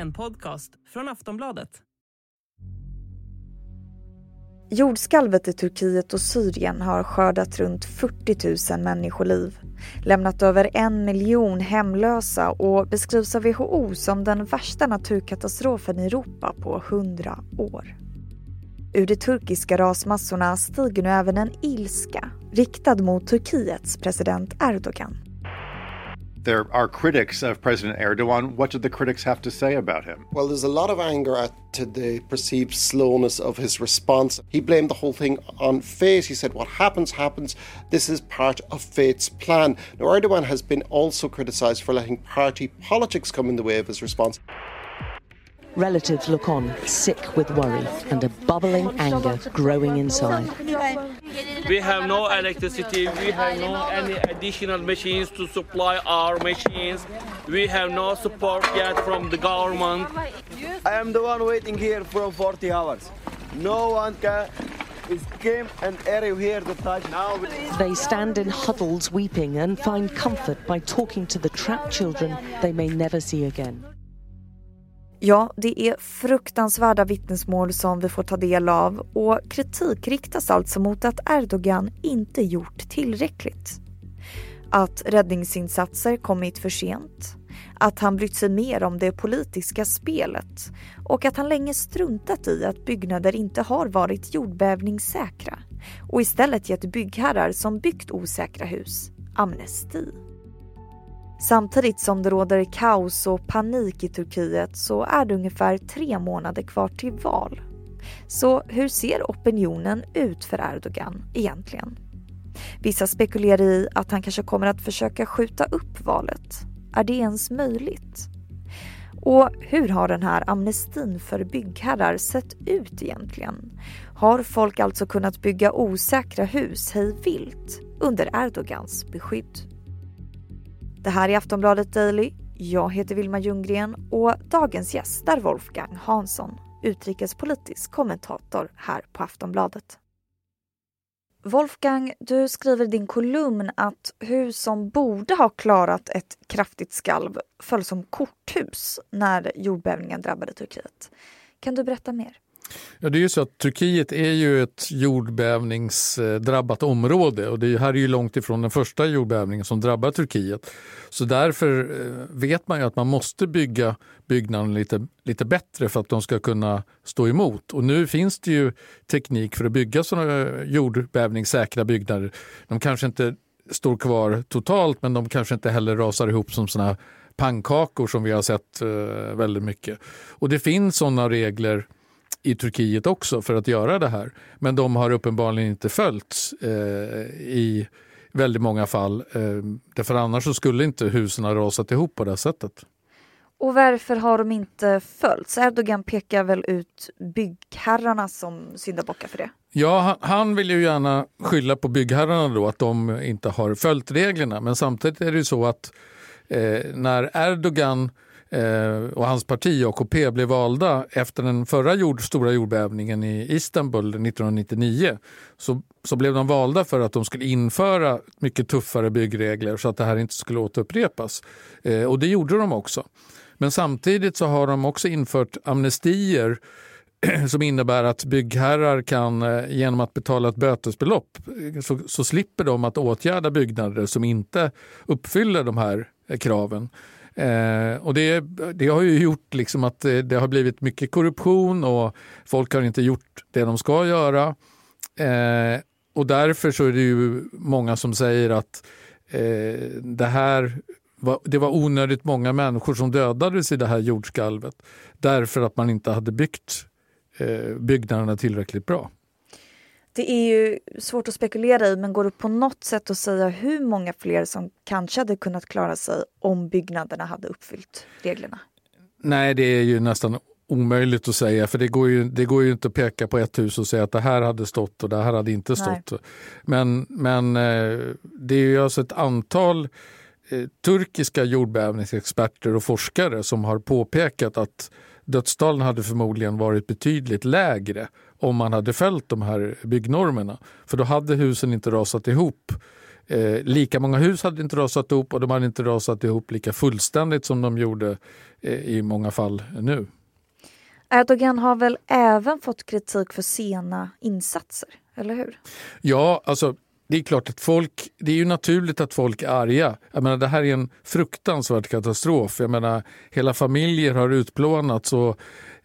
En podcast från Aftonbladet. Jordskalvet i Turkiet och Syrien har skördat runt 40 000 människoliv, lämnat över 1 miljon hemlösa och beskrivs av WHO som den värsta naturkatastrofen i Europa på 100 år. Ur de turkiska rasmassorna stiger nu även en ilska riktad mot Turkiets president Erdogan. There are critics of President Erdogan. What do the critics have to say about him? Well, there's a lot of anger at the perceived slowness of his response. He blamed the whole thing on fate. He said, what happens, happens. This is part of fate's plan. Now, Erdogan has been also criticised for letting party politics come in the way of his response. Relatives look on, sick with worry, and a bubbling anger growing inside. We have no electricity, we have no any additional machines to supply our machines. We have no support yet from the government. I am the one waiting here for 40 hours. No one can escape an area here to touch now. They stand in huddles weeping and find comfort by talking to the trapped children they may never see again. Ja, det är fruktansvärda vittnesmål som vi får ta del av och kritik riktas alltså mot att Erdogan inte gjort tillräckligt. Att räddningsinsatser kommit för sent, att han brytt sig mer om det politiska spelet och att han länge struntat i att byggnader inte har varit jordbävningssäkra och istället gett byggherrar som byggt osäkra hus amnesti. Samtidigt som det råder kaos och panik i Turkiet så är det ungefär 3 månader kvar till val. Så hur ser opinionen ut för Erdogan egentligen? Vissa spekulerar i att han kanske kommer att försöka skjuta upp valet. Är det ens möjligt? Och hur har den här amnestin för byggherrar sett ut egentligen? Har folk alltså kunnat bygga osäkra hus hej vilt under Erdogans beskydd? Det här är Aftonbladet Daily. Jag heter Vilma Ljunggren och dagens gäst är Wolfgang Hansson, utrikespolitisk kommentator här på Aftonbladet. Wolfgang, du skriver i din kolumn att hus som borde ha klarat ett kraftigt skalv föll som korthus när jordbävningen drabbade Turkiet. Kan du berätta mer? Ja, det är ju så att Turkiet är ju ett jordbävningsdrabbat område och det här är ju långt ifrån den första jordbävningen som drabbar Turkiet. Så därför vet man ju att man måste bygga byggnaden lite bättre för att de ska kunna stå emot. Och nu finns det ju teknik för att bygga sådana jordbävningssäkra byggnader. De kanske inte står kvar totalt, men de kanske inte heller rasar ihop som sådana pannkakor som vi har sett väldigt mycket. Och det finns sådana regler i Turkiet också för att göra det här. Men de har uppenbarligen inte följts i väldigt många fall. Därför annars så skulle inte husen ha rasat ihop på det sättet. Och varför har de inte följts? Erdogan pekar väl ut byggherrarna som syndabockar för det? Ja, han vill ju gärna skylla på byggherrarna då att de inte har följt reglerna. Men samtidigt är det ju så att när Erdogan och hans parti AKP blev valda efter den förra stora jordbävningen i Istanbul 1999 så blev de valda för att de skulle införa mycket tuffare byggregler så att det här inte skulle återupprepas. Och det gjorde de också. Men samtidigt så har de också infört amnestier som innebär att byggherrar kan genom att betala ett bötesbelopp så slipper de att åtgärda byggnader som inte uppfyller de här kraven. Och det har ju gjort liksom att det har blivit mycket korruption och folk har inte gjort det de ska göra. Och därför så är det ju många som säger att det var onödigt många människor som dödades i det här jordskalvet därför att man inte hade byggt byggnaderna tillräckligt bra. Det är ju svårt att spekulera i, men går det på något sätt att säga hur många fler som kanske hade kunnat klara sig om byggnaderna hade uppfyllt reglerna? Nej, det är ju nästan omöjligt att säga, för det går ju inte att peka på ett hus och säga att det här hade stått och det här hade inte stått. Men det är ju alltså ett antal turkiska jordbävningsexperter och forskare som har påpekat att dödstalen hade förmodligen varit betydligt lägre om man hade följt de här byggnormerna. För då hade husen inte rasat ihop Lika många hus hade inte rasat ihop och de hade inte rasat ihop lika fullständigt som de gjorde i många fall nu. Erdogan har väl även fått kritik för sena insatser, eller hur? Ja, alltså det är klart att det är ju naturligt att folk är arga. Jag menar, det här är en fruktansvärd katastrof. Jag menar, hela familjer har utplånats och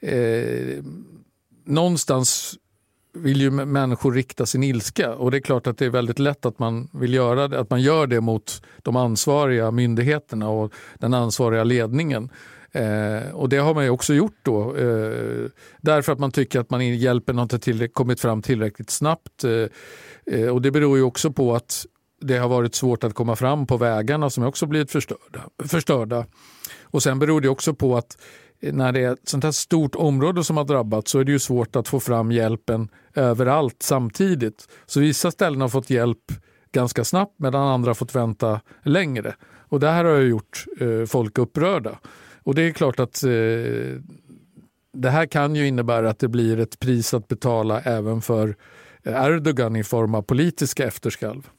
någonstans vill ju människor rikta sin ilska. Och det är klart att det är väldigt lätt att man vill göra det, att man gör det mot de ansvariga myndigheterna och den ansvariga ledningen. Och det har man ju också gjort då. Därför att man tycker att hjälpen inte kommit fram tillräckligt snabbt. Och det beror ju också på att det har varit svårt att komma fram på vägarna som också blivit förstörda. Och sen beror det också på att när det är ett sånt här stort område som har drabbats så är det ju svårt att få fram hjälpen överallt samtidigt. Så vissa ställen har fått hjälp ganska snabbt medan andra har fått vänta längre. Och det här har ju gjort folk upprörda. Och det är klart att det här kan ju innebära att det blir ett pris att betala även för Erdogan i form av politiska efterskalv.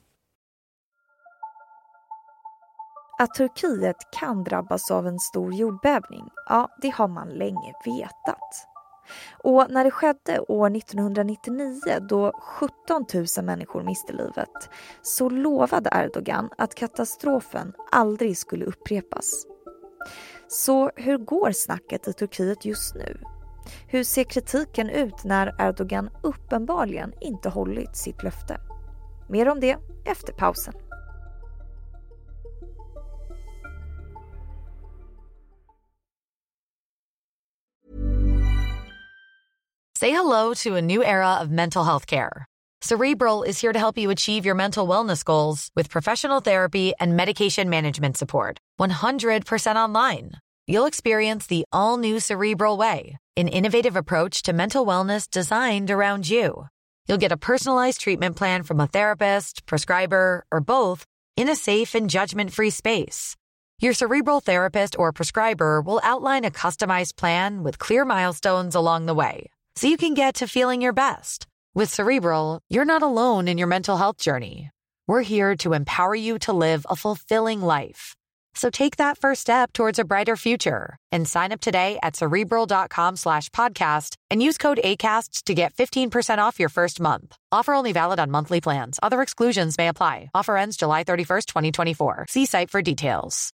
Att Turkiet kan drabbas av en stor jordbävning, ja, det har man länge vetat. Och när det skedde år 1999 då 17 000 människor miste livet så lovade Erdogan att katastrofen aldrig skulle upprepas. Så hur går snacket i Turkiet just nu? Hur ser kritiken ut när Erdogan uppenbarligen inte hållit sitt löfte? Mer om det efter pausen. Say hello to a new era of mental health care. Cerebral is here to help you achieve your mental wellness goals with professional therapy and medication management support. 100% online. You'll experience the all-new Cerebral Way, an innovative approach to mental wellness designed around you. You'll get a personalized treatment plan from a therapist, prescriber, or both in a safe and judgment-free space. Your Cerebral therapist or prescriber will outline a customized plan with clear milestones along the way, so you can get to feeling your best. With Cerebral, you're not alone in your mental health journey. We're here to empower you to live a fulfilling life. So take that first step towards a brighter future and sign up today at Cerebral.com/podcast and use code ACAST to get 15% off your first month. Offer only valid on monthly plans. Other exclusions may apply. Offer ends July 31st, 2024. See site for details.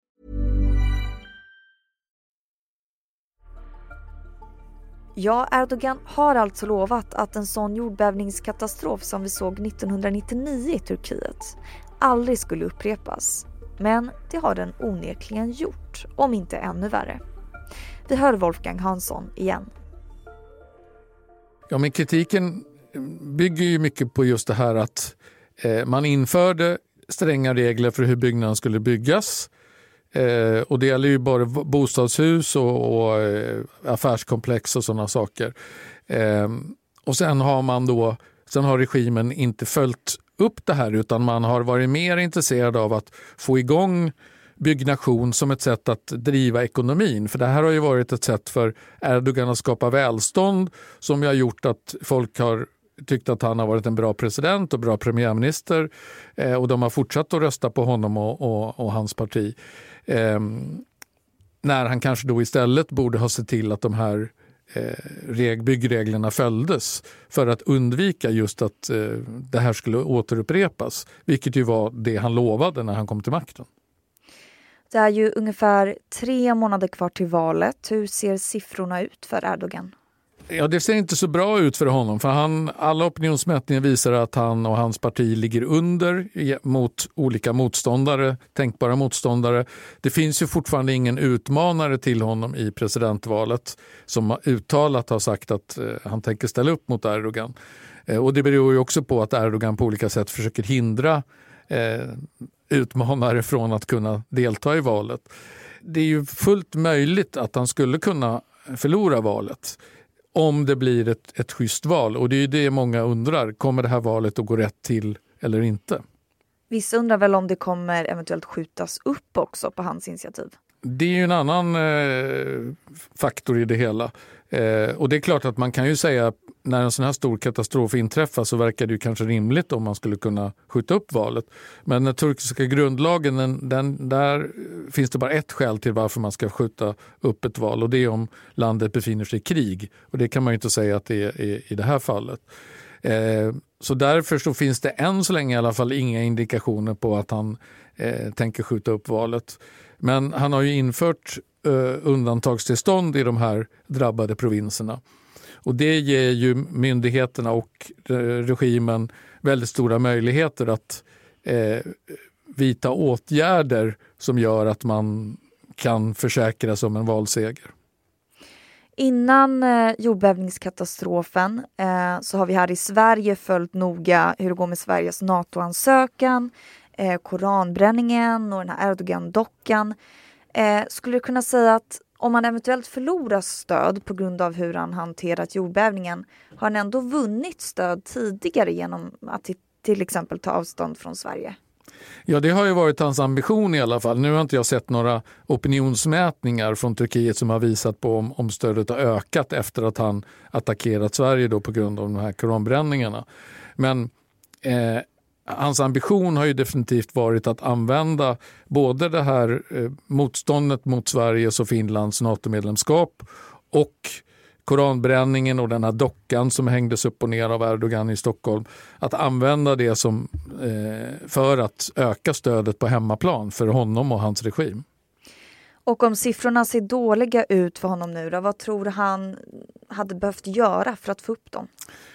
Ja, Erdogan har alltså lovat att en sån jordbävningskatastrof som vi såg 1999 i Turkiet aldrig skulle upprepas. Men det har den onekligen gjort, om inte ännu värre. Vi hör Wolfgang Hansson igen. Ja, men kritiken bygger ju mycket på just det här att man införde stränga regler för hur byggnaden skulle byggas. Och det gäller ju bara bostadshus och affärskomplex och sådana saker. Och sen har regimen inte följt upp det här utan man har varit mer intresserad av att få igång byggnation som ett sätt att driva ekonomin. För det här har ju varit ett sätt för Erdogan att skapa välstånd som har gjort att folk har tyckt att han har varit en bra president och bra premiärminister och de har fortsatt att rösta på honom och hans parti. När han kanske då istället borde ha sett till att de här byggreglerna följdes för att undvika just att det här skulle återupprepas, vilket ju var det han lovade när han kom till makten. Det är ju ungefär 3 månader kvar till valet. Hur ser siffrorna ut för Erdogan? Ja, det ser inte så bra ut för honom för alla opinionsmätningar visar att han och hans parti ligger under mot olika motståndare, tänkbara motståndare. Det finns ju fortfarande ingen utmanare till honom i presidentvalet som uttalat har sagt att han tänker ställa upp mot Erdogan. Och det beror ju också på att Erdogan på olika sätt försöker hindra utmanare från att kunna delta i valet. Det är ju fullt möjligt att han skulle kunna förlora valet om det blir ett schysst val. Och det är ju det många undrar. Kommer det här valet att gå rätt till eller inte? Vissa undrar väl om det kommer eventuellt skjutas upp också på hans initiativ. det är ju en annan faktor i det hela. Och det är klart att man kan ju säga när en sån här stor katastrof inträffar så verkar det ju kanske rimligt om man skulle kunna skjuta upp valet. Men den turkiska grundlagen, där finns det bara ett skäl till varför man ska skjuta upp ett val, och det är om landet befinner sig i krig. Och det kan man ju inte säga att det är i det här fallet. Så därför så finns det än så länge i alla fall inga indikationer på att han tänker skjuta upp valet. Men han har ju infört undantagstillstånd i de här drabbade provinserna. Och det ger ju myndigheterna och regimen väldigt stora möjligheter att vidta åtgärder som gör att man kan försäkra sig om en valseger. Innan jordbävningskatastrofen så har vi här i Sverige följt noga hur det går med Sveriges NATO-ansökan, koranbränningen och den här Erdogan-dockan. Skulle du kunna säga att om man eventuellt förlorar stöd på grund av hur han hanterat jordbävningen, har han ändå vunnit stöd tidigare genom att till exempel ta avstånd från Sverige? Ja, det har ju varit hans ambition i alla fall. Nu har inte jag sett några opinionsmätningar från Turkiet som har visat på om stödet har ökat efter att han attackerat Sverige då på grund av de här koranbränningarna. Men hans ambition har ju definitivt varit att använda både det här motståndet mot Sveriges och Finlands NATO-medlemskap och koranbränningen och den här dockan som hängdes upp och ner av Erdogan i Stockholm, att använda det som för att öka stödet på hemmaplan för honom och hans regim. Och om siffrorna ser dåliga ut för honom nu då, vad tror han hade behövt göra för att få upp dem?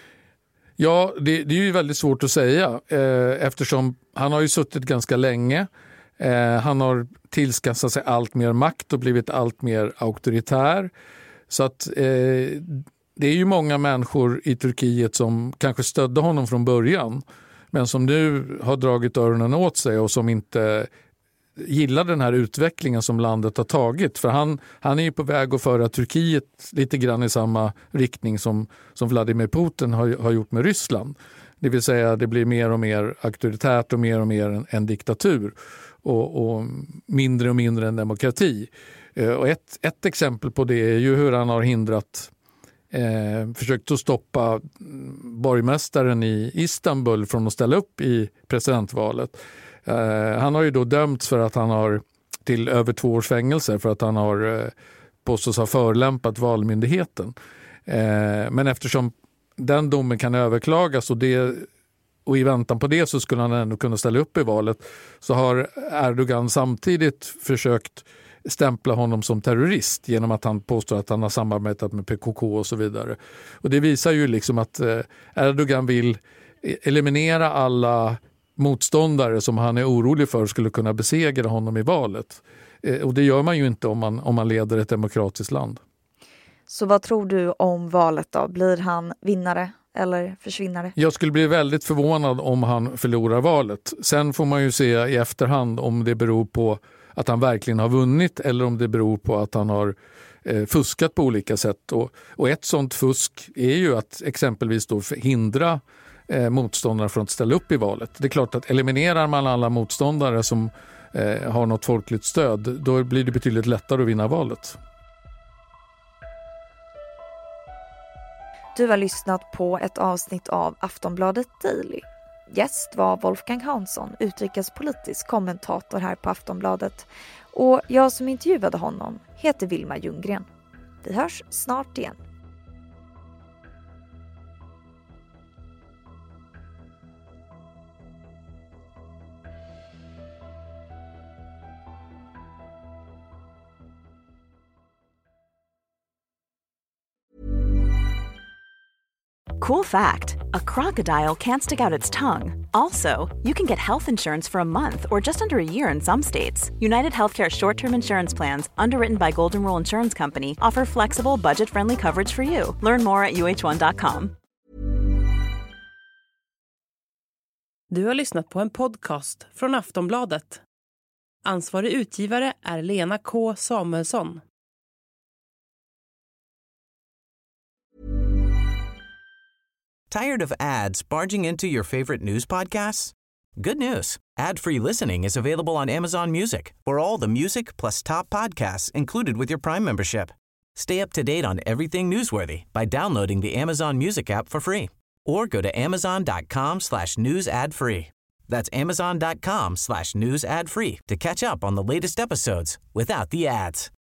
Ja, det är ju väldigt svårt att säga eftersom han har ju suttit ganska länge. Han har tillskansat sig allt mer makt och blivit allt mer auktoritär. Så att det är ju många människor i Turkiet som kanske stödde honom från början men som nu har dragit öronen åt sig och som inte gillar den här utvecklingen som landet har tagit. För han är ju på väg att föra Turkiet lite grann i samma riktning som Vladimir Putin har gjort med Ryssland. Det vill säga det blir mer och mer auktoritärt och mer en diktatur och mindre en demokrati. Och ett exempel på det är ju hur han har försökt att stoppa borgmästaren i Istanbul från att ställa upp i presidentvalet. Han har ju då dömts för att han har till över 2 års fängelse för att han har påstås ha förolämpat valmyndigheten. Men eftersom den domen kan överklagas och i väntan på det så skulle han ändå kunna ställa upp i valet, så har Erdogan samtidigt försökt stämpla honom som terrorist genom att han påstår att han har samarbetat med PKK och så vidare. Och det visar ju liksom att Erdogan vill eliminera alla motståndare som han är orolig för skulle kunna besegra honom i valet. Och det gör man ju inte om man leder ett demokratiskt land. Så vad tror du om valet då? Blir han vinnare eller försvinnare? Jag skulle bli väldigt förvånad om han förlorar valet. Sen får man ju se i efterhand om det beror på att han verkligen har vunnit eller om det beror på att han har fuskat på olika sätt. Och ett sånt fusk är ju att exempelvis då hindra motståndare från att ställa upp i valet. Det är klart att eliminerar man alla motståndare som har något folkligt stöd, då blir det betydligt lättare att vinna valet. Du har lyssnat på ett avsnitt av Aftonbladet Daily. Gäst var Wolfgang Hansson, utrikespolitisk kommentator här på Aftonbladet. Och jag som intervjuade honom heter Vilma Ljunggren. Vi hörs snart igen. Cool fact, a crocodile can't stick out its tongue. Also, you can get health insurance for a month or just under a year in some states. United Healthcare short-term insurance plans, underwritten by Golden Rule Insurance Company, offer flexible, budget-friendly coverage for you. Learn more at uh1.com. Du har lyssnat på en podcast från Aftonbladet. Ansvarig utgivare är Lena K. Samuelsson. Tired of ads barging into your favorite news podcasts? Good news. Ad-free listening is available on Amazon Music for all the music plus top podcasts included with your Prime membership. Stay up to date on everything newsworthy by downloading the Amazon Music app for free or go to amazon.com/news ad free. That's amazon.com/news ad free to catch up on the latest episodes without the ads.